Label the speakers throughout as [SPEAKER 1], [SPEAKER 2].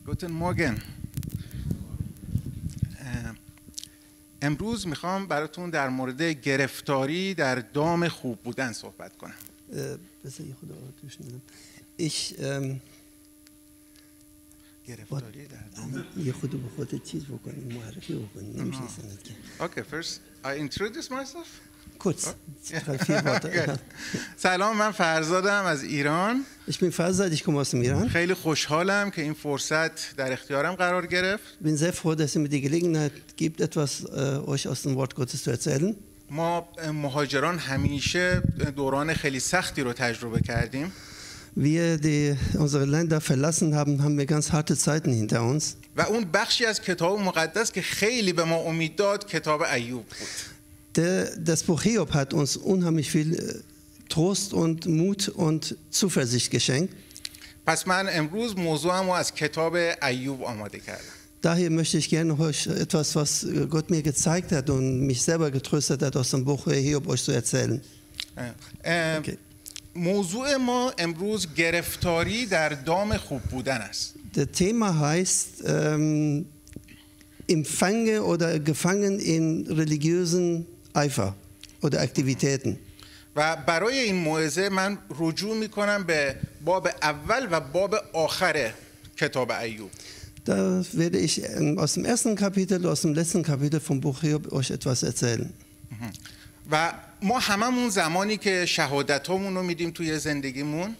[SPEAKER 1] Guten Morgen. امروز میخوام براتون در مورد گرفتاری در دام خوب بودن صحبت کنم. گرفتاری در دام.
[SPEAKER 2] یه خود به خودت چیز بکنی، معرفی بکنی، نمیشه سند که.
[SPEAKER 1] Okay, first I introduce myself.
[SPEAKER 2] Kurz.
[SPEAKER 1] سلام، من فرزادم از ایران.
[SPEAKER 2] Ich bin Farzad, ich komme aus dem Iran.
[SPEAKER 1] خیلی خوشحالم که این فرصت در اختیارم قرار گرفت.
[SPEAKER 2] Bin sehr froh, dass ihr mir die Gelegenheit gibt, etwas euch aus dem Wort Gottes zu erzählen.
[SPEAKER 1] ما مهاجران همیشه دوران خیلی سختی رو تجربه کردیم.
[SPEAKER 2] Wir, die unsere Länder verlassen haben, haben wir ganz harte Zeiten hinter uns.
[SPEAKER 1] و اون بخشی از کتاب مقدس که خیلی به ما امید داد کتاب ایوب بود.
[SPEAKER 2] Das Buch Hiob hat uns unheimlich viel Trost und Mut und Zuversicht geschenkt.
[SPEAKER 1] پس من امروز موضوعمو از کتاب ایوب آماده کردم.
[SPEAKER 2] Daher möchte ich gerne euch etwas, was Gott mir gezeigt hat und mich selber getröstet hat, aus dem Buch Hiob euch zu erzählen.
[SPEAKER 1] Okay. موضوع ما امروز گرفتاری در دام خوب بودن است.
[SPEAKER 2] Das Thema heißt Empfange oder gefangen in religiösen Eifer oder Aktivitäten.
[SPEAKER 1] و برای این موعظه من رجوع میکنم به باب اول و باب آخر کتاب ایوب.
[SPEAKER 2] Da werde ich aus dem ersten Kapitel, aus dem letzten Kapitel vom Buch Hiob euch etwas erzählen.
[SPEAKER 1] و ما هممون زمانی که شهادتامون رو میدیم توی زندگیمون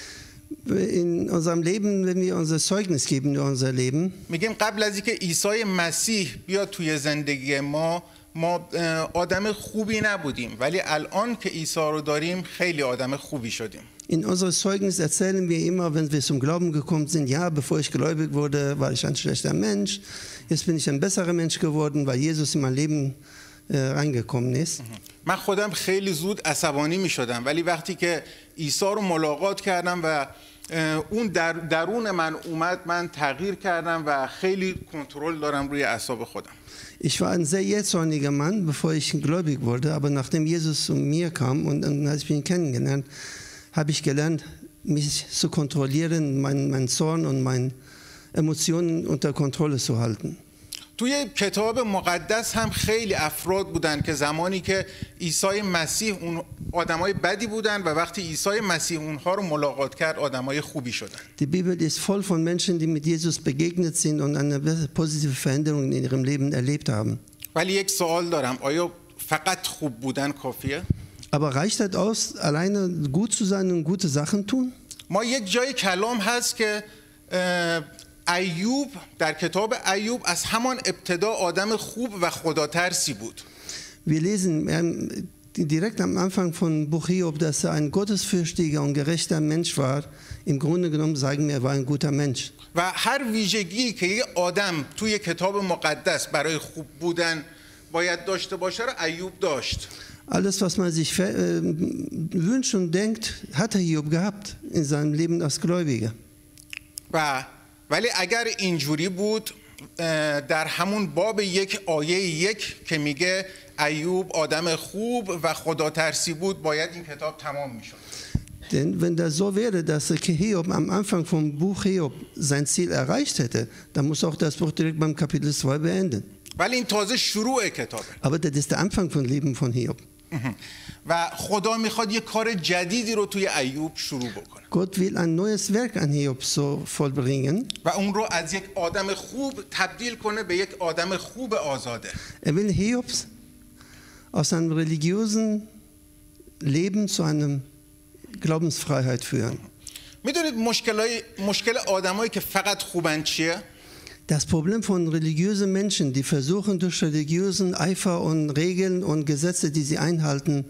[SPEAKER 2] In unserem Leben, wenn wir unser Zeugnis geben über unser Leben,
[SPEAKER 1] میگیم قبل از اینکه عیسی مسیح بیاد توی زندگی ما آدم خوبی نبودیم، ولی الان که عیسی رو داریم خیلی آدم خوبی شدیم.
[SPEAKER 2] in unserem Zeugnis erzählen wir immer, wenn wir zum Glauben gekommen sind, ja, bevor ich gläubig wurde, war ich ein schlechter Mensch, jetzt bin ich ein besserer Mensch geworden, weil Jesus in mein Leben reingekommen ist.
[SPEAKER 1] من خودم خیلی زود عصبانی می شدم، ولی وقتی که عیسی رو ملاقات کردم و اون درون من اومد، من تغییر کردم و خیلی کنترل دارم روی اعصاب خودم.
[SPEAKER 2] Ich war ein sehr jähzorniger Mann, bevor ich gläubig wurde, aber nachdem Jesus zu mir kam und als ich ihn kennengelernt, habe ich gelernt, mich zu kontrollieren, meinen Zorn und meine Emotionen unter Kontrolle zu halten.
[SPEAKER 1] توی کتاب مقدس هم خیلی افراد بودن که زمانی که عیسی مسیح اون آدمای بدی بودن و وقتی عیسی مسیح اونها رو ملاقات کرد آدمای خوبی شدن.
[SPEAKER 2] Die Bibel ist voll von Menschen, die mit Jesus begegnet sind und eine positive Veränderung in ihrem Leben erlebt haben.
[SPEAKER 1] ولی یک سوال دارم، آیا فقط خوب بودن کافیه؟
[SPEAKER 2] Aber reicht das aus, alleine gut zu sein und gute Sachen tun?
[SPEAKER 1] ما یک جای کلام هست که ایوب در کتاب ایوب از همان ابتدا آدم خوب و خداترسی بود.
[SPEAKER 2] Wir lesen direkt am Anfang von Buch Hiob, dass er ein gottesfürchtiger und gerechter Mensch war. Im Grunde genommen sagen wir, er war ein guter Mensch.
[SPEAKER 1] و هر ویژگی که یک آدم توی کتاب مقدس برای خوب بودن باید داشته باشه رو ایوب داشت.
[SPEAKER 2] Alles, was man sich wünscht und denkt, hat Hiob gehabt in seinem Leben als Gläubiger.
[SPEAKER 1] ولی اگر اینجوری بود در همون باب یک آیه یک که میگه ایوب آدم خوب و خداترسی بود باید این کتاب تمام میشد.
[SPEAKER 2] Denn wenn das so wäre, dass Hiob am Anfang vom Buch Hiob sein Ziel erreicht hätte, dann muss auch das Buch direkt beim Kapitel 2 beenden.
[SPEAKER 1] ولی این تازه شروع کتابه.
[SPEAKER 2] Aber das ist der Anfang von Leben von Hiob.
[SPEAKER 1] و خدا میخواد یک کار جدیدی رو توی ایوب شروع بکنه.
[SPEAKER 2] Gott will ein neues Werk an Hiob so vollbringen.
[SPEAKER 1] و اون رو از یک آدم خوب تبدیل کنه به یک آدم خوب آزاده.
[SPEAKER 2] will Hiob aus einem religiösen Leben zu einer Glaubensfreiheit führen.
[SPEAKER 1] میدونید مشکل آدمایی که فقط خوبن چیه؟
[SPEAKER 2] Das Problem von religiösen Menschen, die versuchen durch religiösen Eifer und Regeln und Gesetze, die sie einhalten,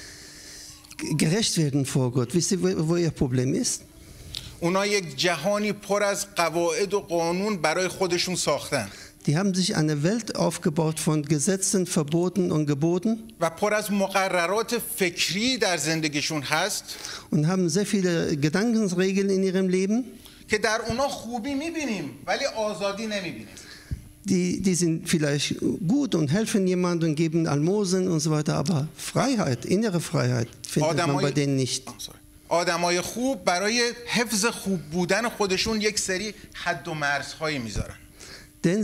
[SPEAKER 2] gerecht werden vor Gott. Wisst ihr, wo ihr Problem ist?
[SPEAKER 1] اونا یک جهانی پر از قواعد و قانون برای خودشون ساختن.
[SPEAKER 2] Die haben sich eine Welt aufgebaut von Gesetzen, Verboten und Geboten.
[SPEAKER 1] و پر از مقررات فکری در زندگیشون هست.
[SPEAKER 2] Und haben sehr viele Gedankenregeln in ihrem Leben.
[SPEAKER 1] که در اونا خوبی میبینیم ولی آزادی نمیبینیم.
[SPEAKER 2] Die sind vielleicht gut und helfen jemandem und geben Almosen und so weiter, aber Freiheit, innere Freiheit findet man bei denen nicht.
[SPEAKER 1] آدمای خوب برای حفظ خوب بودن خودشون یک سری حد و مرزهایی میذارن.
[SPEAKER 2] Denn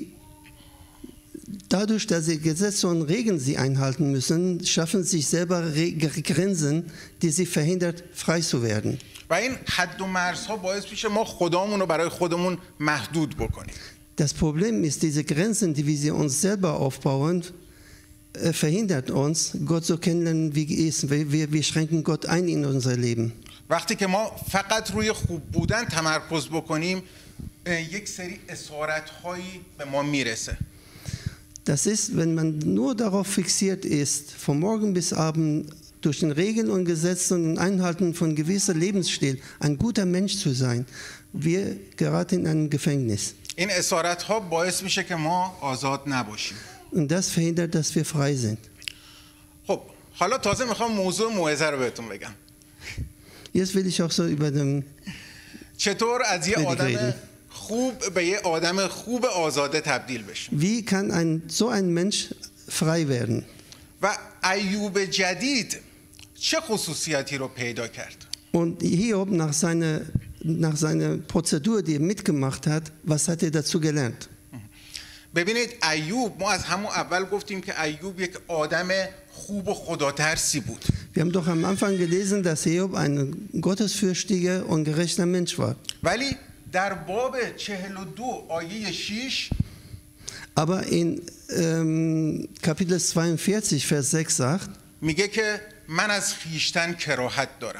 [SPEAKER 2] dadurch, dass sie Gesetze und Regeln sie einhalten müssen, schaffen sich selber Grenzen, die sie verhindert, frei zu werden.
[SPEAKER 1] و این حد و مرزها باعث میشه ما خدامون رو برای خودمون محدود بکنیم.
[SPEAKER 2] Das Problem ist, diese Grenzen, die wir uns selber aufbauen, verhindert uns, Gott so kennenlernen, wie er ist. Wir schränken Gott ein in unser Leben.
[SPEAKER 1] وقتی که ما فقط روی خوب بودن تمرکز بکنیم، یک سری اسارت‌هایی به ما میرسه.
[SPEAKER 2] Das ist, wenn man nur darauf fixiert ist, von morgen bis abend durch den Regeln und Gesetzen und Einhalten von gewisser Lebensstil ein guter Mensch zu sein, wir geraten in ein Gefängnis.
[SPEAKER 1] این اسارت‌ها باعث میشه که ما آزاد نباشیم.
[SPEAKER 2] Und das verhindert, dass wir frei sind.
[SPEAKER 1] خب حالا تازه میخوام موضوع موعظه رو بهتون بگم.
[SPEAKER 2] Jetzt will ich auch so über den
[SPEAKER 1] چطور از یه آدم خوب به یه آدم خوب آزاده تبدیل بشیم.
[SPEAKER 2] Wie kann so ein Mensch frei werden?
[SPEAKER 1] و ایوب جدید چه خصوصیاتی رو پیدا کرد؟
[SPEAKER 2] Und Hiob nach seiner Prozedur, die er mitgemacht hat, was hat er dazu gelernt?
[SPEAKER 1] ببینید ایوب، ما از همون اول گفتیم که ایوب یک آدم خوب و خداترسی بود.
[SPEAKER 2] Wir haben doch am Anfang gelesen, dass Hiob ein gottesfürchtiger und gerechter Mensch war.
[SPEAKER 1] ولی در باب 42 آیه 6
[SPEAKER 2] Aber in Kapitel 42, Vers 6 sagt,
[SPEAKER 1] میگه که من از خیشتن کراهت دارم.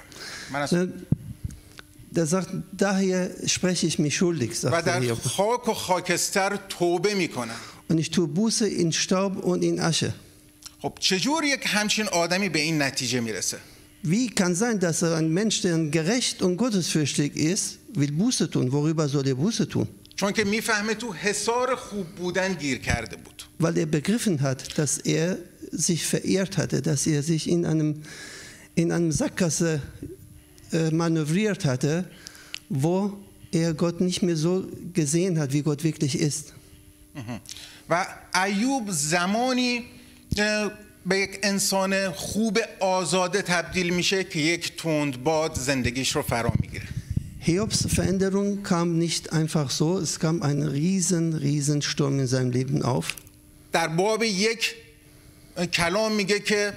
[SPEAKER 2] der sagt, daher spreche ich mich schuldig,
[SPEAKER 1] و
[SPEAKER 2] sagt
[SPEAKER 1] در
[SPEAKER 2] Hiob.
[SPEAKER 1] خاک و خاکستر توبه میکنم.
[SPEAKER 2] Und ich tue Buße in Staub und in Asche.
[SPEAKER 1] خب چجور یک همچین آدمی به این نتیجه میرسه؟
[SPEAKER 2] Wie kann sein, dass ein Mensch, der gerecht und gottesfürchtig ist, will Buße tun? Worüber soll er Buße tun?
[SPEAKER 1] چون که میفهمه تو حصار خوب بودن گیر کرده بود.
[SPEAKER 2] Weil er begriffen hat, dass er sich verehrt hatte, dass er sich in einem Sackgasse manövriert hatte, wo er Gott nicht mehr so gesehen hat, wie Gott wirklich ist.
[SPEAKER 1] و ایوب زمانی به یک انسان خوب آزاده تبدیل میشه که یک تندباد زندگیش رو فرا میگیره.
[SPEAKER 2] Hiobs Veränderung kam nicht einfach so, es kam ein riesen Sturm in seinem Leben auf.
[SPEAKER 1] در باب یک کلام میگه که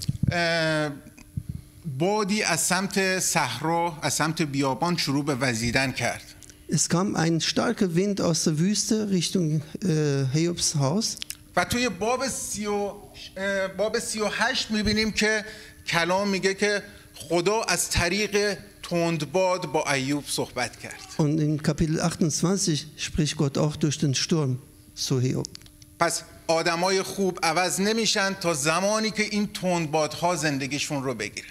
[SPEAKER 1] بادی از سمت صحرا، از سمت بیابان شروع به وزیدن کرد.
[SPEAKER 2] Es kam ein starker Wind aus der Wüste Richtung Hiobs Haus.
[SPEAKER 1] و توی باب 38 میبینیم که کلام میگه که خدا از طریق تندباد با ایوب صحبت کرد.
[SPEAKER 2] Und in Kapitel 28 spricht Gott auch durch den Sturm zu Hiob.
[SPEAKER 1] پس آدمای خوب عوض نمیشن تا زمانی که این تندبادها زندگیشون رو بگیره.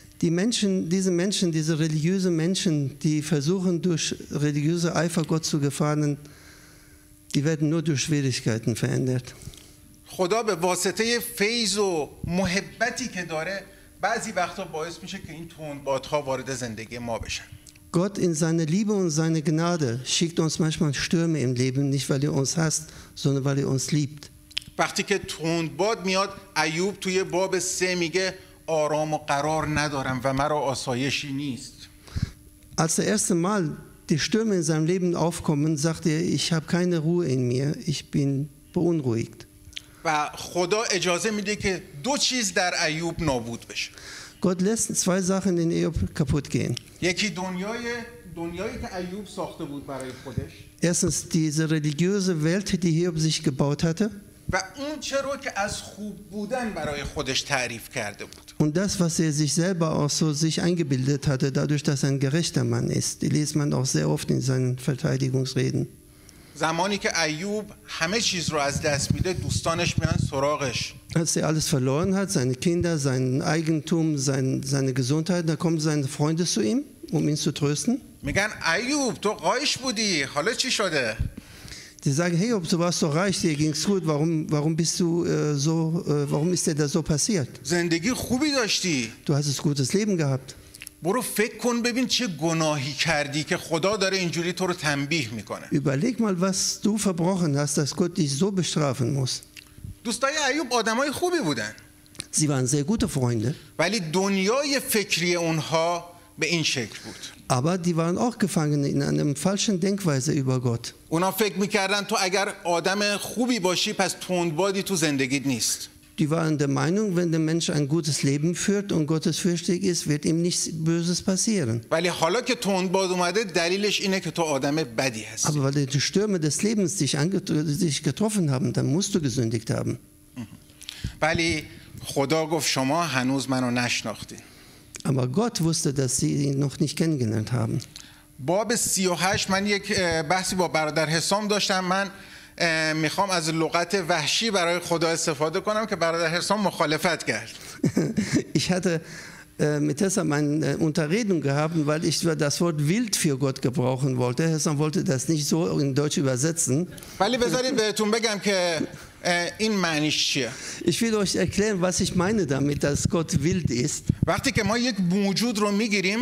[SPEAKER 2] Diese religiösen Menschen, die versuchen durch religiöse Eifer Gott zu gefallen, die werden nur durch Schwierigkeiten verändert.
[SPEAKER 1] خدا به واسطه فیض و محبتی که داره بعضی وقتا باعث میشه که این تندبادها وارد زندگی ما بشن.
[SPEAKER 2] Gott in seiner Liebe und seiner Gnade schickt uns manchmal Stürme im Leben, nicht weil er uns hasst, sondern weil er uns liebt.
[SPEAKER 1] وقتی که تندباد میاد، ایوب توی باب 3 میگه آرام و قرار ندارم و مرا آسایشی نیست.
[SPEAKER 2] Als das erste Mal die Stürme in seinem Leben aufkommen, sagt er, ich habe keine Ruhe in mir, ich bin beunruhigt.
[SPEAKER 1] و خدا اجازه میده که دو چیز در ایوب نابود بشه.
[SPEAKER 2] Gott lässt zwei Sachen in Hiob kaputt gehen.
[SPEAKER 1] یکی دنیایی که ایوب ساخته بود برای خودش.
[SPEAKER 2] Erstens diese religiöse Welt, die Hiob sich gebaut hatte.
[SPEAKER 1] و اون چه رو که از خوب buden برای خودش تعریف کرده بود.
[SPEAKER 2] Und das, was er sich selber auch so sich eingebildet hatte, dadurch, dass er ein gerechter Mann ist, die liest man auch sehr oft in seinen Verteidigungsreden.
[SPEAKER 1] زمانی که ایوب همه چیز رو از دست میده، دوستانش میان سراغش.
[SPEAKER 2] Als er alles verloren hat, seine Kinder, sein Eigentum, seine Gesundheit, da kommen seine Freunde zu ihm, ihn zu trösten.
[SPEAKER 1] میگن ایوب تو قایش بودی، حالا چی شده؟
[SPEAKER 2] Die sagen, hey, du warst so reich, dir ging's gut, warum bist du warum ist dir das so passiert?
[SPEAKER 1] زندگی خوبی داشتی.
[SPEAKER 2] Du hast ein gutes Leben gehabt.
[SPEAKER 1] برو فکر کن ببین چه گناهی کردی که خدا داره اینجوری تو رو تنبیه میکنه.
[SPEAKER 2] Überleg mal, was du verbrochen hast, dass Gott dich so bestrafen muss.
[SPEAKER 1] دوستای ایوب آدمای خوبی بودن.
[SPEAKER 2] Sie waren sehr gute Freunde.
[SPEAKER 1] ولی دنیای فکری اونها به این شکل بود.
[SPEAKER 2] Aber die waren auch gefangen in einer falschen Denkweise über Gott.
[SPEAKER 1] اونا فکر میکردن تو اگر آدم خوبی باشی پس تندبادی تو زندگیت نیست.
[SPEAKER 2] Die waren der Meinung, wenn der Mensch ein gutes Leben führt und gottesfürchtig ist, wird ihm nichts Böses passieren.
[SPEAKER 1] ولی حالا که تندباد اومده دلیلش اینه که تو آدم بدی هستی.
[SPEAKER 2] Aber weil die Stürme des Lebens dich getroffen haben, dann musst du gesündigt haben.
[SPEAKER 1] ولی خدا گفت شما هنوز منو نشناختین.
[SPEAKER 2] Aber Gott wusste, dass sie ihn noch nicht kennengelernt haben.
[SPEAKER 1] باب 38 من یک بحثی با برادر حسام داشتم. من میخوام از لغت وحشی برای خدا استفاده کنم که برادر حسام مخالفت کرد.
[SPEAKER 2] Ich hatte mit Hessam eine Unterredung gehabt, weil ich das Wort wild für Gott gebrauchen wollte. Hessam wollte das nicht so in Deutsch übersetzen.
[SPEAKER 1] ولی بذارید بهتون بگم که این معنیش چیه.
[SPEAKER 2] Ich will euch erklären, was ich meine damit, dass Gott wild ist.
[SPEAKER 1] وقتی که ما یک موجود رو میگیریم،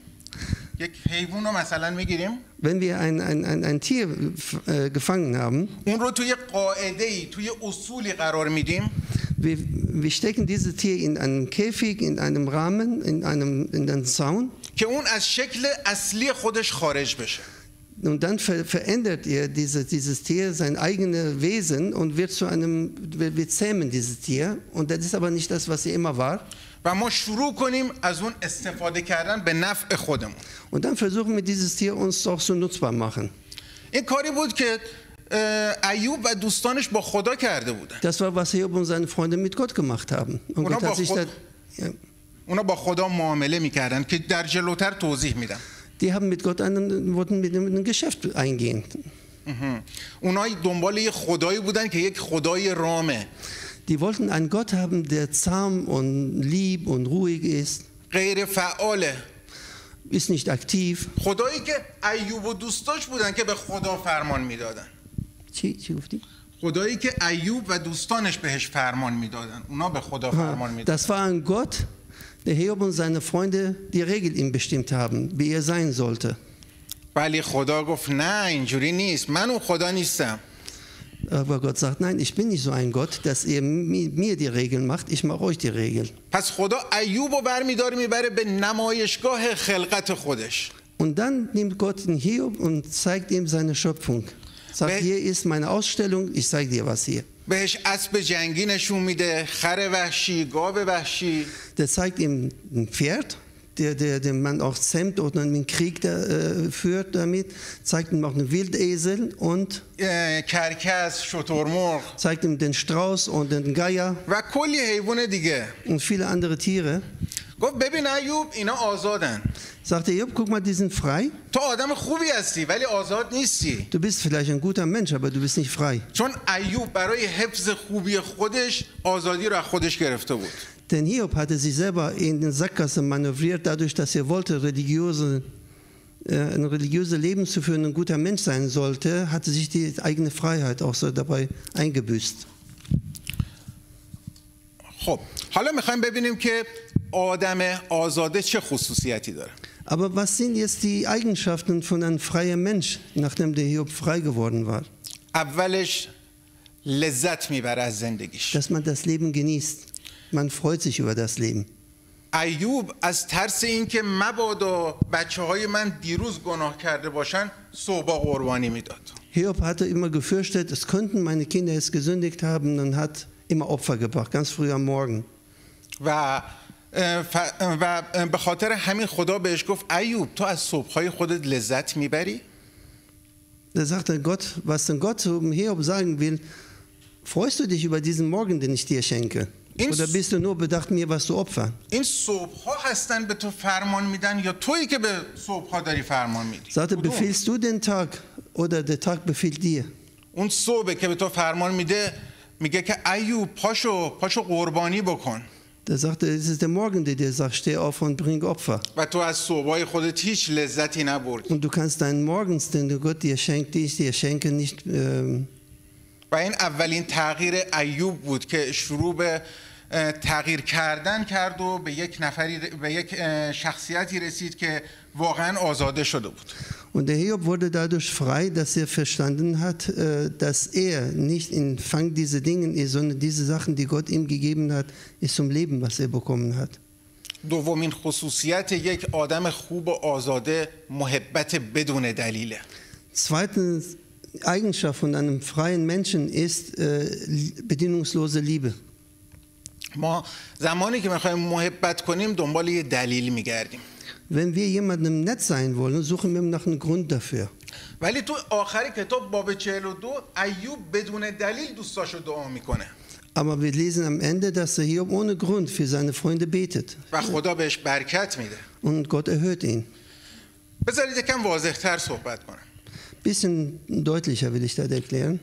[SPEAKER 1] یک حیوان رو مثلا میگیریم،
[SPEAKER 2] Wenn wir ein Tier gefangen haben,
[SPEAKER 1] اون رو توی قاعده‌ای، توی اصولی قرار میدیم.
[SPEAKER 2] wir stecken dieses Tier in einen Käfig, in einem Rahmen, in einen Zaun.
[SPEAKER 1] که اون از شکل اصلی خودش خارج بشه.
[SPEAKER 2] Und dann verändert ihr dieses Tier sein eigenes Wesen und wir zähmen dieses Tier. Und das ist aber nicht das, was sie immer war.
[SPEAKER 1] و ما شروع کنیم از اون استفاده کردن به نفع خودمون.
[SPEAKER 2] Und dann versuchen wir dieses Tier uns auch so nutzbar machen.
[SPEAKER 1] این کاری بود که ایوب و دوستانش با خدا کرده بودن.
[SPEAKER 2] Das war, was Hiob und seine Freunde mit Gott gemacht haben. Und Gott hat sich
[SPEAKER 1] اونا با خدا معامله میکردن که در جلوتر توضیح میدم.
[SPEAKER 2] Die haben mit Gott wollten mit einem Geschäft eingehen.
[SPEAKER 1] اونا دنبال یه خدایی بودن که یک خدای رامه.
[SPEAKER 2] Die wollten einen Gott haben, der zahm und lieb und ruhig ist.
[SPEAKER 1] غیر فعاله.
[SPEAKER 2] Ist nicht aktiv.
[SPEAKER 1] خدایی که ایوب و دوستاش بودن که به خدا فرمان میدادن.
[SPEAKER 2] چی گفتی؟
[SPEAKER 1] خدایی که ایوب و دوستانش بهش فرمان میدادن. اونا به خدا فرمان میدادن.
[SPEAKER 2] Das war ein Gott, der Hiob und seine Freunde die Regel ihm bestimmt haben, wie er sein sollte.
[SPEAKER 1] ولی خدا گفت نه اینجوری نیست. من اون خدا نیستم.
[SPEAKER 2] Aber Gott sagt, nein, ich bin nicht so ein Gott, dass ihr mir die Regeln macht, ich mache euch die Regeln.
[SPEAKER 1] پس خدا ایوب رو برمیداره میبره به نمایشگاه خلقت خودش.
[SPEAKER 2] Und dann nimmt Gott den Hiob und zeigt ihm seine Schöpfung. Sagt, hier ist meine Ausstellung, ich zeige dir was hier.
[SPEAKER 1] بهش اسب جنگی نشون میده، خر وحشی، گاو وحشی.
[SPEAKER 2] Der zeigt ihm ein Pferd, den man auch zähmt oder einen Krieg führt damit, zeigt ihm auch einen Wildesel und
[SPEAKER 1] کرکس، شترمرغ،
[SPEAKER 2] zeigt ihm den Strauß und den Geier
[SPEAKER 1] و کلی حیوان دیگه.
[SPEAKER 2] und viele andere Tiere.
[SPEAKER 1] گفت ببین ایوب اینا آزادن.
[SPEAKER 2] Sagte Job, guck mal, die sind frei.
[SPEAKER 1] تو آدم خوبی هستی ولی آزاد نیستی.
[SPEAKER 2] Du bist vielleicht ein guter Mensch, aber du bist nicht frei.
[SPEAKER 1] چون ایوب برای حفظ خوبی خودش آزادی رو از خودش گرفته بود.
[SPEAKER 2] Denn Hiob hatte sich selber in den Sackgasse manövriert, dadurch, dass er wollte, ein religiöses Leben zu führen, ein guter Mensch sein sollte, hatte sich die eigene Freiheit auch so dabei eingebüßt.
[SPEAKER 1] خب حالا میخوایم ببینیم که آدم آزاده چه خصوصیتی داره.
[SPEAKER 2] Aber was sind jetzt die Eigenschaften von einem freien Mensch, nachdem der Hiob frei geworden war?
[SPEAKER 1] اولش لذت میبره از زندگیش.
[SPEAKER 2] Dass man das Leben genießt. Man freut sich über das Leben.
[SPEAKER 1] ایوب از ترس اینکه مبادا بچه‌های من دیروز گناه کرده باشن صبح قربانی میداد.
[SPEAKER 2] Hiob hatte immer gefürchtet, es könnten meine Kinder jetzt gesündigt haben und hat immer Opfer gebracht, ganz früh am Morgen.
[SPEAKER 1] و به خاطر همین خدا بهش گفت ایوب تو از صبح‌های خودت لذت میبری؟
[SPEAKER 2] Da sagte Gott, was denn Gott zum Hiob sagen will, freust du dich über diesen Morgen, den ich dir schenke? Oder bist du nur bedacht, mir was zu opfern?
[SPEAKER 1] این صبح‌ها هستن به تو فرمان میدن یا تویی که به صبح‌ها داری فرمان میدی؟
[SPEAKER 2] Sagte, befiehlst du den Tag oder der Tag befiehlt dir?
[SPEAKER 1] اون صبح که به تو فرمان میده میگه که ایوب پاشو قربانی بکن.
[SPEAKER 2] Da sagte, es ist der Morgen, der dir sagt, steh auf und bring Opfer.
[SPEAKER 1] و تو از صبح‌های خودت هیچ لذتی نبردی.
[SPEAKER 2] Und du kannst deinen Morgens, den Gott dir schenkt, die ich dir schenke, nicht.
[SPEAKER 1] و این اولین تغییر ایوب بود که شروع به تغییر کردن کرد و به یک شخصیتی رسید که واقعا آزاده شده بود.
[SPEAKER 2] Und der Hiob wurde dadurch frei, dass er verstanden hat, dass er nicht in Fang dieser Dinge ist, sondern diese Sachen, die Gott ihm gegeben hat, ist zum Leben, was er bekommen hat.
[SPEAKER 1] دومین خصوصیت یک آدم خوب و آزاده محبت بدون دلیله.
[SPEAKER 2] Zweite Eigenschaft von einem freien Menschen ist bedingungslose Liebe.
[SPEAKER 1] ما زمانی که میخوایم محبت کنیم دنبال یه دلیل میگردیم.
[SPEAKER 2] Wenn wir jemandem nett sein wollen, suchen wir nach einem Grund dafür.
[SPEAKER 1] ولی تو آخر کتاب باب 42 ایوب بدون دلیل دوستاشو دعا میکنه.
[SPEAKER 2] Aber wir lesen am Ende, dass Hiob ohne Grund für seine Freunde betet.
[SPEAKER 1] و خدا بهش برکت میده.
[SPEAKER 2] Und Gott erhört ihn.
[SPEAKER 1] بذارید یکم واضح‌تر صحبت کنم.
[SPEAKER 2] Bisschen deutlicher will ich das erklären.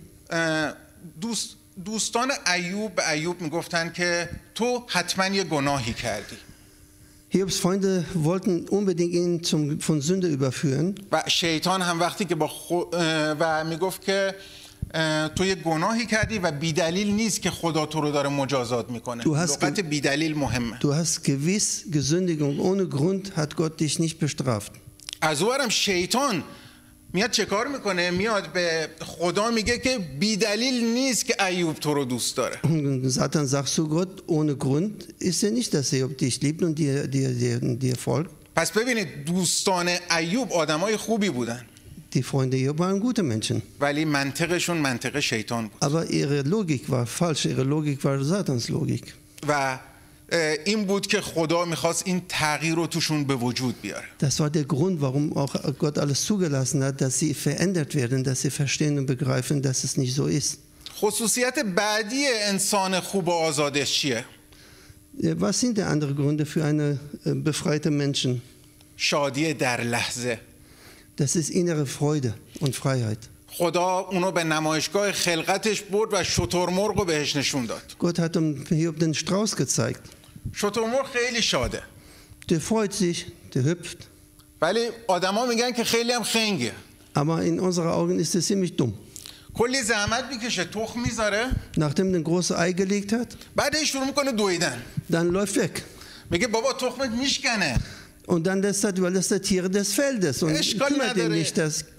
[SPEAKER 1] دوستان ایوب به ایوب میگفتن که تو حتما یه گناهی کردی.
[SPEAKER 2] Hiobs Freunde wollten unbedingt ihn von Sünde überführen.
[SPEAKER 1] و شیطان هم وقتی که و میگفت که تو یه گناهی کردی و بیدلیل نیست که خدا تو رو داره مجازات میکنه. لغت بیدلیل مهمه.
[SPEAKER 2] Du hast gewiss gesündigt und ohne Grund hat Gott dich nicht bestraft.
[SPEAKER 1] از اونورم شیطان میاد چه کار میکنه؟ میاد به خدا میگه که بیدلیل نیست که ایوب تو رو دوست داره.
[SPEAKER 2] Satan sagt zu Gott, ohne Grund ist er nicht, dass Hiob dich liebt und dir folgt.
[SPEAKER 1] پس ببینید دوستان ایوب آدمای خوبی بودن.
[SPEAKER 2] Die Freunde Hiob waren gute Menschen.
[SPEAKER 1] ولی منطقشون منطق شیطان بود.
[SPEAKER 2] Aber ihre Logik war falsch, ihre Logik war Satans Logik.
[SPEAKER 1] و این بود که خدا میخواست این تغییر رو توشون به وجود بیاره.
[SPEAKER 2] Das war der Grund, warum auch Gott alles zugelassen hat, dass sie verändert werden, dass sie verstehen und begreifen, dass es nicht so ist.
[SPEAKER 1] خصوصیت بعدی انسان خوب و آزادش چیه؟
[SPEAKER 2] Was sind die anderen Gründe für eine befreite Menschen?
[SPEAKER 1] شادی در لحظه.
[SPEAKER 2] Das ist innere Freude und Freiheit.
[SPEAKER 1] خدا اونو به نمایشگاه خلقتش برد و شترمرغ رو بهش نشون داد.
[SPEAKER 2] Gott hat Hiob den Strauß gezeigt.
[SPEAKER 1] شترمرغ خیلی شاده.
[SPEAKER 2] Der freut sich, der hüpft.
[SPEAKER 1] ولی آدما میگن که خیلی هم خنگه.
[SPEAKER 2] Aber in unseren Augen ist er ziemlich dumm.
[SPEAKER 1] کلی زحمت میکشه، تخم میذاره.
[SPEAKER 2] Nachdem er ein großes Ei gelegt hat,
[SPEAKER 1] بعدش شروع میکنه دویدن.
[SPEAKER 2] dann läuft weg.
[SPEAKER 1] میگه بابا تخمت میشکنه.
[SPEAKER 2] Und dann lässt er Tiere des Feldes und kümmert ihn nicht,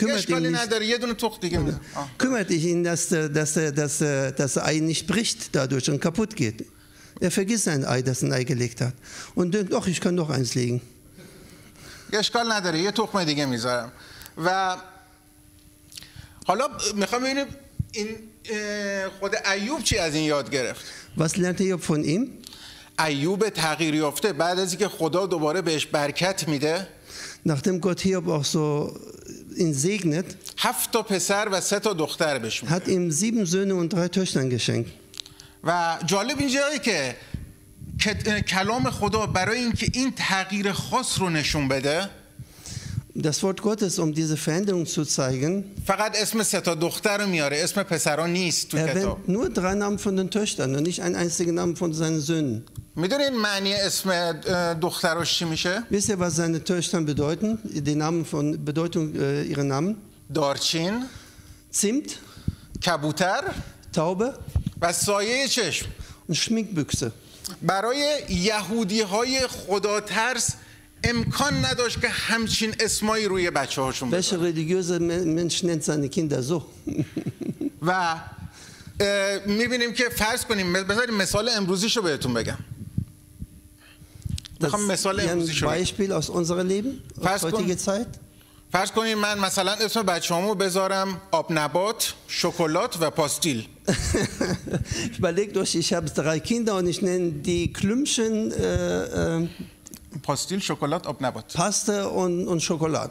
[SPEAKER 2] kümmert ihn, dass das Ei nicht bricht dadurch und kaputt geht. Er vergisst sein Ei, das ein Ei gelegt hat und denkt, ach, ich kann doch eins legen.
[SPEAKER 1] اشکال نداره یه تخم دیگه میذارم. و حالا میخوام ببینیم این خود ایوب چی از این یاد گرفت.
[SPEAKER 2] Was lernt Hiob von ihm?
[SPEAKER 1] ایوب تغییر یافته بعد از اینکه خدا دوباره بهش برکت میده.
[SPEAKER 2] Nachdem Gott Hiob auch so ihn segnet,
[SPEAKER 1] 7 تا پسر و 3 تا دختر بهش میده.
[SPEAKER 2] hat ihm 7 Söhne und 3 Töchter geschenkt.
[SPEAKER 1] و جالب اینجاست که کلام خدا برای اینکه این تغییر خاص رو نشون بده،
[SPEAKER 2] Das Wort Gottes, um diese Veränderung zu zeigen,
[SPEAKER 1] فقط اسم 3 تا دختر رو میاره، اسم پسرا نیست تو کتاب.
[SPEAKER 2] erwähnt nur 3 Namen von den Töchtern und nicht einen einzigen Namen von seinen Söhnen.
[SPEAKER 1] میدونین معنی اسم دختراش چی میشه؟
[SPEAKER 2] Wisst ihr, was seine Töchter bedeuten? Die Namen von Bedeutung ihrer Namen?
[SPEAKER 1] دارچین،
[SPEAKER 2] Zimt,
[SPEAKER 1] کبوتر،
[SPEAKER 2] Taube
[SPEAKER 1] و سایه چشم.
[SPEAKER 2] und Schminkbüchse.
[SPEAKER 1] برای یهودی‌های خدا ترس امکان نداشت که همچین اسمایی روی بچه‌هاشون
[SPEAKER 2] Welcher religiöse Mensch nennt seine Kinder so?
[SPEAKER 1] و می‌بینیم که فرض کنیم بذارید مثال امروزیشو بهتون بگم. می‌خوام مثال امروزیشو
[SPEAKER 2] بگم. Beispiel aus unserem Leben, aus heutiger Zeit.
[SPEAKER 1] فرض کنید من مثلا اسم بچه‌هامو بذارم آب نبات، شکلات و پاستیل.
[SPEAKER 2] Überlegt euch, ich habe 3 Kinder und ich nenne die Klümpchen
[SPEAKER 1] پاستیل، شکلات، آب نبات.
[SPEAKER 2] Paste und Schokolade.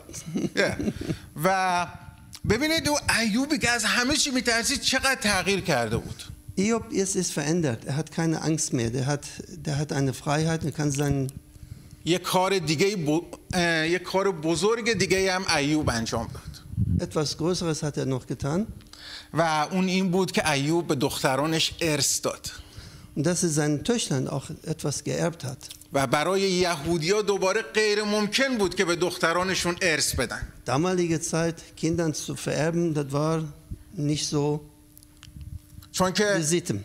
[SPEAKER 1] و ببینید او ایوبی که از همه چی میترسید چقدر تغییر کرده بود.
[SPEAKER 2] Hiob ist verändert. Er hat keine Angst mehr. Der hat eine Freiheit. Er kann seinen
[SPEAKER 1] یک کار بزرگ دیگه هم ایوب انجام داد.
[SPEAKER 2] Etwas Größeres hat er noch getan.
[SPEAKER 1] و اون این بود که ایوب به دخترانش ارث داد.
[SPEAKER 2] Und dass er seinen Töchtern auch etwas geerbt hat.
[SPEAKER 1] و برای یهودی‌ها دوباره غیر ممکن بود که به دخترانشون ارث بدن.
[SPEAKER 2] Damalige Zeit Kindern zu vererben, das war nicht so.
[SPEAKER 1] چون که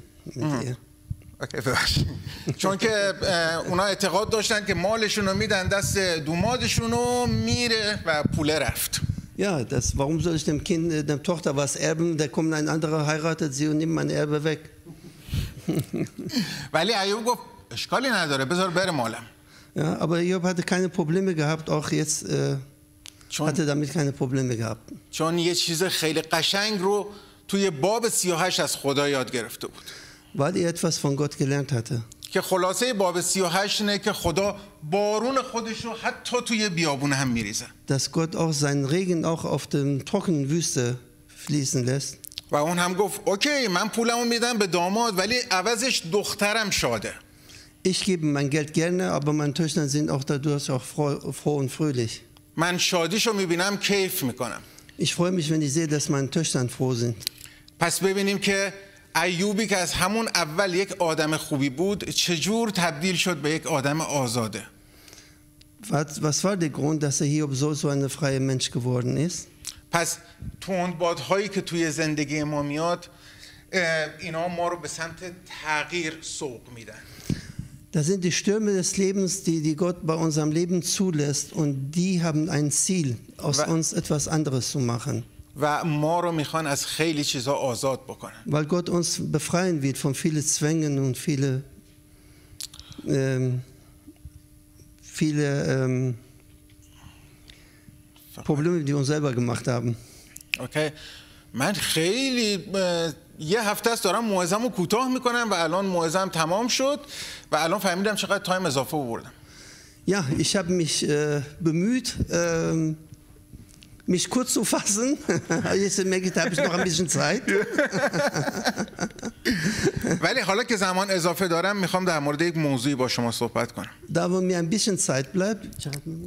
[SPEAKER 1] چون که اونا اعتقاد داشتن که مالشون رو میدن دست دومادشون و میره و پوله رفت.
[SPEAKER 2] Ja, warum soll ich dem Kind, der Tochter was erben? Da kommt ein anderer, heiratet sie und nimmt mein Erbe weg.
[SPEAKER 1] ولی ایوب گفت اشکالی نداره بذار بره مالم.
[SPEAKER 2] Ja, aber Hiob hatte keine Probleme gehabt, auch jetzt hatte damit keine Probleme gehabt.
[SPEAKER 1] چون یه چیز خیلی قشنگ رو توی باب 38 از خدا یاد گرفته بود.
[SPEAKER 2] Weil er etwas von Gott gelernt hatte.
[SPEAKER 1] که خلاصه باب 38 اینه که خدا بارون خودش رو حتی توی بیابون هم میریزه.
[SPEAKER 2] Dass Gott auch seinen Regen auch auf der trockenen Wüste fließen lässt.
[SPEAKER 1] و اون هم گفت اوکی من پولمو میدم به داماد ولی عوضش دخترم شاده.
[SPEAKER 2] Ich gebe mein Geld gerne, aber meine Töchter sind auch dadurch auch froh und fröhlich.
[SPEAKER 1] من شادیشو میبینم کیف میکنم.
[SPEAKER 2] Ich freue mich, wenn ich sehe, dass meine Töchter froh sind.
[SPEAKER 1] پس ببینیم که ایوبی که از همون اول یک آدم خوبی بود چجور تبدیل شد به یک آدم آزاده.
[SPEAKER 2] Was war der Grund, dass Hiob so ein freier Mensch geworden ist?
[SPEAKER 1] پس تندبادهایی که توی زندگی ما میاد اینا ما رو به سمت تغییر سوق میدن.
[SPEAKER 2] Das sind die Stürme des Lebens, die Gott bei unserem Leben zulässt und die haben ein Ziel, aus uns etwas anderes zu machen.
[SPEAKER 1] و ما رو میخوان از خیلی چیزا آزاد بکنن.
[SPEAKER 2] Weil Gott uns befreien wird von vielen Zwängen und viele Probleme, die wir uns selber gemacht haben.
[SPEAKER 1] Okay. من خیلی یه هفته است دارم موعظه‌مو کوتاه میکنم و الان موعظه‌ام تمام شد و الان فهمیدم چقدر تایم اضافه آوردم.
[SPEAKER 2] Ja, ich habe mich bemüht, mich kurz zu fassen. Jetzt merke ich, da habe ich noch ein bisschen Zeit.
[SPEAKER 1] ولی حالا که زمان اضافه دارم میخوام در مورد یک موضوعی با شما صحبت کنم.
[SPEAKER 2] Da wo mir ein bisschen Zeit bleibt.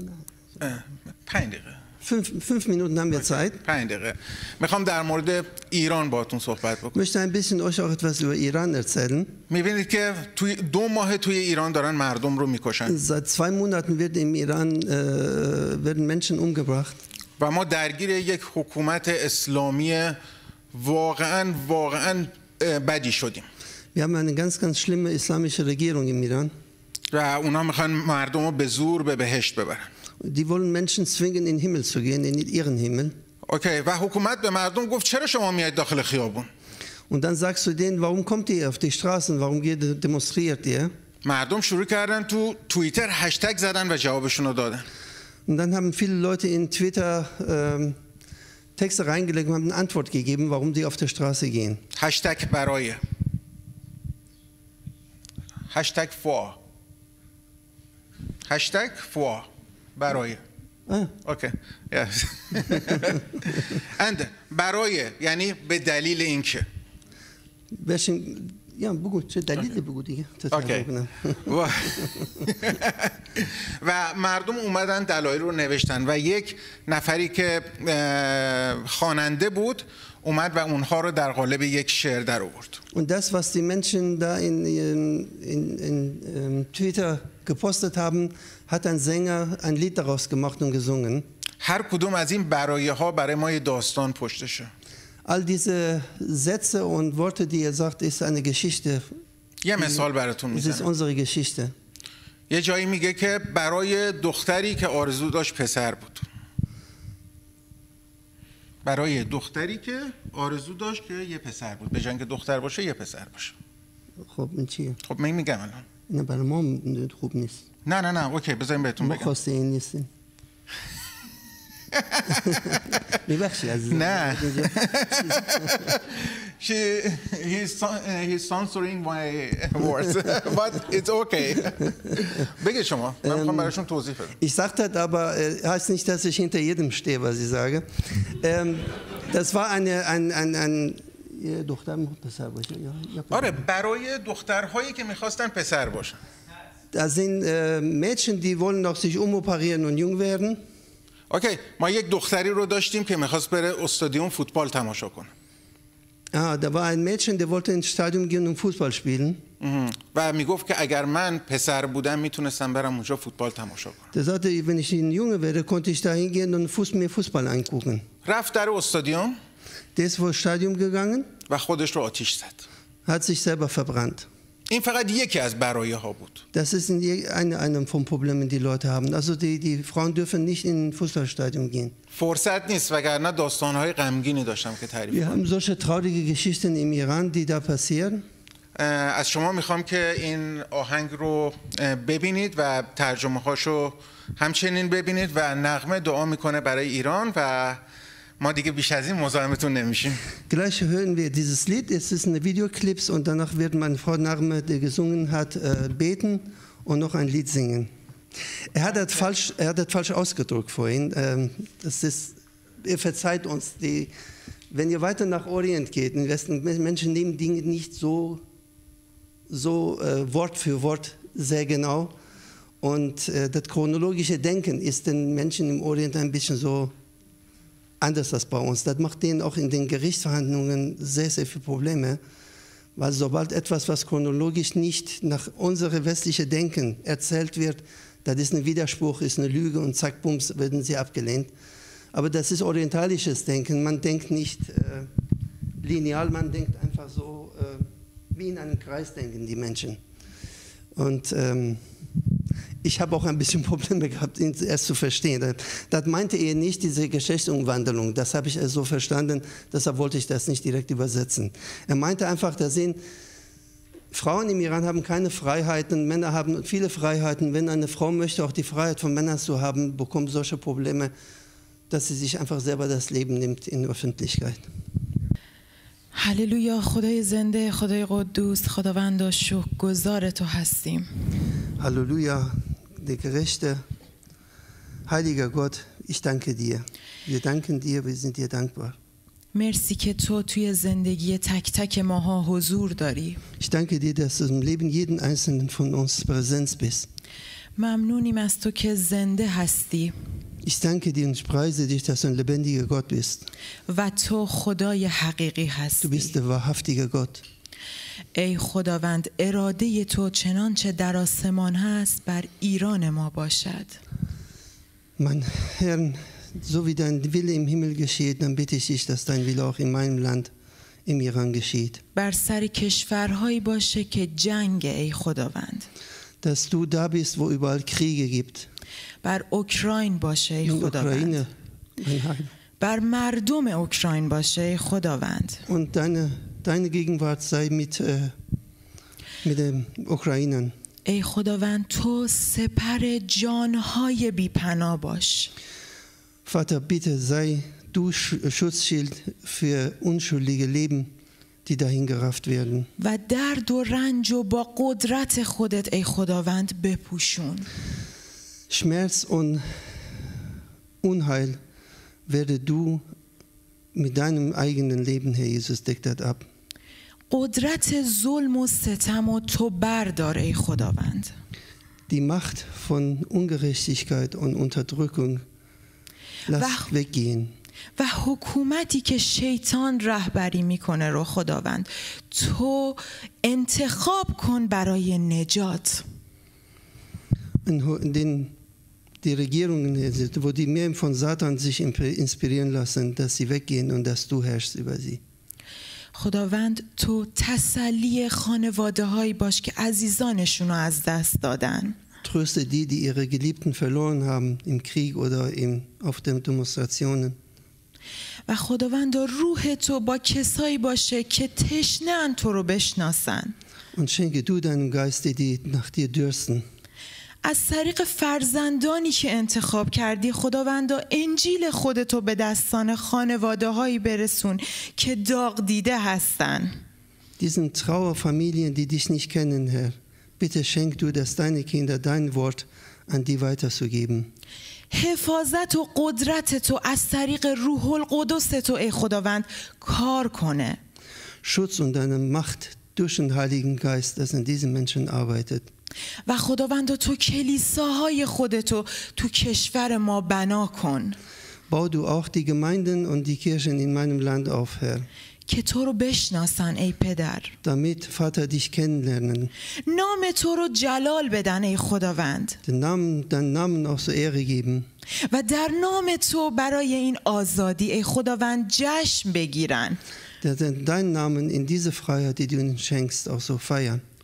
[SPEAKER 1] 5 دقیقه.
[SPEAKER 2] 5 Minuten haben wir Zeit.
[SPEAKER 1] 5 دقیقه. میخوام در مورد ایران باهاتون صحبت بکنم.
[SPEAKER 2] Ich möchte ein bisschen euch auch etwas über Iran erzählen.
[SPEAKER 1] میبینید که توی 2 ماه توی ایران دارن مردم رو میکشن.
[SPEAKER 2] Seit 2 Monaten wird im Iran werden Menschen umgebracht.
[SPEAKER 1] و ما درگیر یک حکومت اسلامی واقعاً بدی شدیم.
[SPEAKER 2] Wir haben eine ganz schlimme islamische Regierung im Iran.
[SPEAKER 1] و اونا میخوان مردم رو به زور به بهشت ببرن.
[SPEAKER 2] Die wollen Menschen zwingen, in den Himmel zu gehen, in ihren Himmel.
[SPEAKER 1] اوکی و حکومت به مردم گفت چرا شما میایید داخل خیابون؟
[SPEAKER 2] Und dann sagst du denen, warum kommt ihr auf die Straßen, warum demonstriert ihr?
[SPEAKER 1] مردم شروع کردن تو توییتر هشتگ زدن و جوابشون رو دادن.
[SPEAKER 2] Und dann haben viele Leute in Twitter Texte reingelegt und haben eine Antwort gegeben, warum die auf der Straße gehen.
[SPEAKER 1] هشتگ برای هشتگ فوا هشتگ فوا برای اوکی اند برای یعنی به دلیل اینکه
[SPEAKER 2] Ja, بگو چه دلیلی بگو دیگه.
[SPEAKER 1] و مردم اومدن دلایل رو نوشتن و یک نفری که خواننده بود اومد و اونها رو در قالب یک شعر در آورد.
[SPEAKER 2] Und das, was die Menschen da in Twitter gepostet haben, hat ein Sänger ein Lied daraus gemacht und gesungen.
[SPEAKER 1] هر کدوم از این برایه ها برای ما یه داستان پشتشه.
[SPEAKER 2] All diese Sätze und Worte, die er sagt, ist eine Geschichte.
[SPEAKER 1] یه مثال براتون
[SPEAKER 2] میزنم. Das ist unsere Geschichte.
[SPEAKER 1] یه جایی میگه که برای دختری که آرزو داشت پسر بود. برای دختری که آرزو داشت که یه پسر بود. به جای اینکه دختر باشه یه پسر باشه.
[SPEAKER 2] خب این چیه؟
[SPEAKER 1] خب من میگم الان.
[SPEAKER 2] نه برای ما خوب نیست.
[SPEAKER 1] نه اوکی بذاریم بهتون بگم.
[SPEAKER 2] ما خواسته این نیستیم. میبخشی عزیزم.
[SPEAKER 1] نه. He's censoring my words, but it's okay. بگید شما. من میخوام براشون توضیح بدم.
[SPEAKER 2] Ich sage das, aber heißt nicht, dass ich hinter jedem stehe, was ich sage. Das war ein دختر پسر باشه.
[SPEAKER 1] آره برای دخترهایی که میخواستن پسر باشن.
[SPEAKER 2] Da sind Mädchen, die wollen noch sich umoperieren und jung werden.
[SPEAKER 1] اوکی ما یک دختری رو داشتیم که میخواست بره استادیوم فوتبال تماشا کنه.
[SPEAKER 2] Da war ein Mädchen, der wollte ins Stadion gehen und Fußball spielen.
[SPEAKER 1] و میگفت که اگر من پسر بودم میتونستم برم اونجا فوتبال تماشا کنم.
[SPEAKER 2] Der sagte, wenn ich ein Junge wäre, konnte ich da hingehen und mir Fußball angucken.
[SPEAKER 1] رفت در استادیوم.
[SPEAKER 2] Der ist vor Stadion gegangen.
[SPEAKER 1] و خودش رو آتش زد.
[SPEAKER 2] Hat sich selber verbrannt.
[SPEAKER 1] این فقط یکی از برایه ها بود.
[SPEAKER 2] Das ist eine von Problemen, die Leute haben. Also die Frauen dürfen nicht in ein Fußballstadion gehen.
[SPEAKER 1] فرصت نیست وگرنه داستان‌های غمگینی داشتم که تعریف کنم.
[SPEAKER 2] Wir haben solche traurige Geschichten im Iran, die da passieren.
[SPEAKER 1] از شما میخوام که این آهنگ رو ببینید و ترجمه هاشو همچنین ببینید و نغمه دعا میکنه برای ایران و ما دیگه بیش از این مزاحمتون نمیشیم.
[SPEAKER 2] Gleich hören wir dieses Lied, es ist eine Videoclips und danach wird meine Frau Nagme, die gesungen hat, beten und noch ein Lied singen. Er hat das falsch ausgedrückt vorhin. Ihr verzeiht uns, wenn ihr weiter nach Orient geht, in Westen, Menschen nehmen Dinge nicht so Wort für Wort sehr genau. Und das chronologische Denken ist den Menschen im Orient ein bisschen so anders als bei uns. Das macht denen auch in den Gerichtsverhandlungen sehr, sehr viele Probleme, weil sobald etwas, was chronologisch nicht nach unserem westlichen Denken erzählt wird, das ist ein Widerspruch, ist eine Lüge und zack, bums, werden sie abgelehnt. Aber das ist orientalisches Denken. Man denkt nicht lineal, man denkt einfach so, wie in einem Kreis denken die Menschen. Und ich habe auch ein bisschen Probleme gehabt, ihn erst zu verstehen. Das meinte er nicht, diese Geschlechtsumwandlung. Das habe ich so verstanden, deshalb wollte ich das nicht direkt übersetzen. Er meinte einfach, da sind Frauen im Iran haben keine Freiheiten, Männer haben viele Freiheiten. Wenn eine Frau möchte, auch die Freiheit von Männern zu haben, bekommt solche Probleme, dass sie sich einfach selber das Leben nimmt in der Öffentlichkeit.
[SPEAKER 3] هللویا. خدای زنده، خدای قدوس، خداوند شکرگزار تو هستیم.
[SPEAKER 2] Halleluja, der gerechte, heiliger Gott, ich danke dir. Wir danken dir, wir sind dir dankbar.
[SPEAKER 3] مرسی که تو توی زندگی تک تک ماها حضور داری.
[SPEAKER 2] Ich danke dir, dass du im Leben jeden einzelnen von uns präsent bist.
[SPEAKER 3] ممنونیم از تو که زنده هستی.
[SPEAKER 2] Ich danke dir und ich preise dich, dass du ein lebendiger Gott bist.
[SPEAKER 3] و تو خدای حقیقی
[SPEAKER 2] Du
[SPEAKER 3] هستی.
[SPEAKER 2] bist der wahrhaftige Gott.
[SPEAKER 3] ای خداوند، اراده تو چنانچه در آسمان هست بر ایران ما باشد.
[SPEAKER 2] Mein Herr, so wie dein Wille im Himmel geschieht, dann bitte ich dich, dass dein Wille auch in meinem Land, im Iran geschieht.
[SPEAKER 3] بر سر کشورهایی باشه که جنگ، ای خداوند.
[SPEAKER 2] Dass du da bist, wo überall Kriege gibt.
[SPEAKER 3] بر اوکراین باشه ای
[SPEAKER 2] In
[SPEAKER 3] خداوند.
[SPEAKER 2] Ukraine, mein Heil.
[SPEAKER 3] بر مردم اوکراین باشه ای خداوند.
[SPEAKER 2] Und deine Gegenwart sei mit den Ukrainern.
[SPEAKER 3] ای خداوند، تو سپر جانهای بی‌پناه باش.
[SPEAKER 2] Vater, bitte sei du Schutzschild für unschuldige Leben, die dahin gerafft werden.
[SPEAKER 3] و درد و رنج و با قدرت خودت ای خداوند بپوشون.
[SPEAKER 2] Schmerz und Unheil werde du mit deinem eigenen Leben, Herr Jesus, deck das ab.
[SPEAKER 3] قدرت ظلم و ستم و تو بردار ای خداوند.
[SPEAKER 2] Die Macht von Ungerechtigkeit und Unterdrückung lass weggehen.
[SPEAKER 3] و حکومتی که شیطان رهبری میکنه رو خداوند تو انتخاب کن برای نجات.
[SPEAKER 2] Die Regierungen, wo die mehr von Satan sich inspirieren lassen, dass sie weggehen und dass du herrschst über sie.
[SPEAKER 3] خداوند تو تسلی خانواده هایی باش که عزیزانشون رو از دست دادن.
[SPEAKER 2] Tröste die ihre Geliebten verloren haben im Krieg oder auf den Demonstrationen.
[SPEAKER 3] و خداوند روح تو با کسایی باشه که تشنه‌اند تو رو بشناسن.
[SPEAKER 2] Und schenke du deinem Geiste, die nach dir dürsten.
[SPEAKER 3] از طریق فرزندانی که انتخاب کردی خداوندا انجیل خودتو به دستان خانواده هایی برسون که داغ دیده هستن.
[SPEAKER 2] Diesen Trauerfamilien, die dich nicht kennen, Herr, bitte schenk du, dass deine Kinder dein Wort an die weiterzugeben.
[SPEAKER 3] حفاظت و قدرت تو از طریق روح القدس تو ای خداوند کار کنه.
[SPEAKER 2] Schutz und deine Macht durch den Heiligen Geist, das in diesen Menschen arbeitet.
[SPEAKER 3] و خداوند تو کلیساهای خودتو تو کشور ما بنا کن.
[SPEAKER 2] Bau du auch die Gemeinden und die Kirchen in meinem Land auf, Herr.
[SPEAKER 3] که تو رو بشناسن ای پدر.
[SPEAKER 2] Damit, Vater, dich kennenlernen.
[SPEAKER 3] نام تو رو جلال بدن ای خداوند.
[SPEAKER 2] Deinen Namen auch so Ehre geben.
[SPEAKER 3] و در نام تو برای این آزادی ای خداوند جشن بگیرن.
[SPEAKER 2] Deinen Namen in diese Freiheit, die du ihnen schenkst, auch so feiern.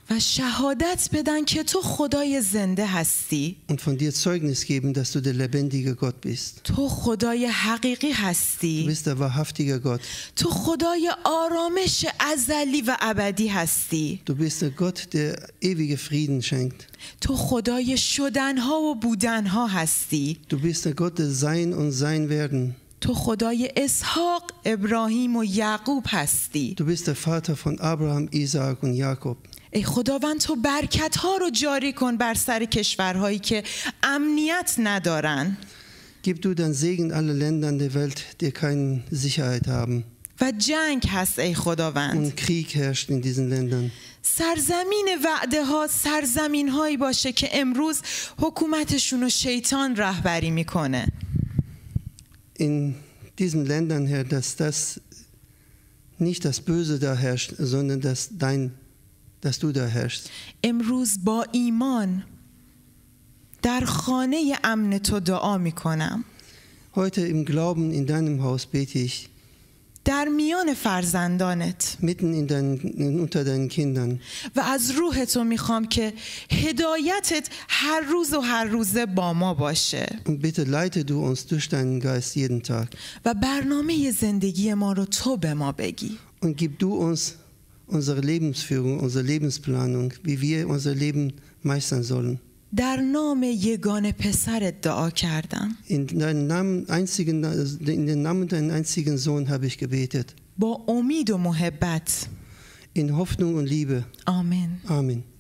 [SPEAKER 3] و شهادت بدن که تو خدای زنده هستی.
[SPEAKER 2] und von dir Zeugnis geben, dass du der lebendige Gott bist.
[SPEAKER 3] تو خدای حقیقی
[SPEAKER 2] Du
[SPEAKER 3] هستی.
[SPEAKER 2] bist der wahrhaftige Gott.
[SPEAKER 3] تو خدای آرامش ازلی و ابدی هستی.
[SPEAKER 2] Du bist der Gott, der ewige Frieden schenkt.
[SPEAKER 3] تو خدای شدنها و بودنها هستی.
[SPEAKER 2] Du bist der Gott des Sein und Sein werden.
[SPEAKER 3] تو خدای اسحاق، ابراهیم و یعقوب هستی.
[SPEAKER 2] Du bist der Vater von Abraham, Isaak und Jakob.
[SPEAKER 3] ای خداوند تو برکت ها رو جاری کن بر سر کشورهایی که امنیت ندارن
[SPEAKER 2] Gib du dein Segen alle Ländern der Welt, die keine Sicherheit haben.
[SPEAKER 3] و جنگ هست ای خداوند.
[SPEAKER 2] Und Krieg herrscht in diesen Ländern.
[SPEAKER 3] سرزمین وعده ها سرزمین هایی باشه که امروز حکومتشون رو شیطان رهبری میکنه.
[SPEAKER 2] In diesen Ländern, Herr, dass das nicht das Böse da herrscht, sondern dass du da herrschst.
[SPEAKER 3] امروز با ایمان در خانه امن تو دعا میکنم.
[SPEAKER 2] Heute im Glauben in deinem Haus bete ich,
[SPEAKER 3] در میان فرزندانت
[SPEAKER 2] mitten unter deinen Kindern.
[SPEAKER 3] و از روح تو میخوام که هدایتت هر روز و هر روزه با ما باشه
[SPEAKER 2] Und bitte leite du uns durch deinen Geist jeden Tag.
[SPEAKER 3] و برنامه زندگی ما رو تو به ما بگی.
[SPEAKER 2] Und gib du uns unsere Lebensführung, unsere Lebensplanung, wie wir unser Leben meistern sollen.
[SPEAKER 3] در نام یگانه پسرت دعا کردم.
[SPEAKER 2] In den Namen deinen einzigen Sohn habe ich gebetet.
[SPEAKER 3] با امید و محبت.
[SPEAKER 2] In Hoffnung und Liebe.
[SPEAKER 3] آمین.
[SPEAKER 2] Amen.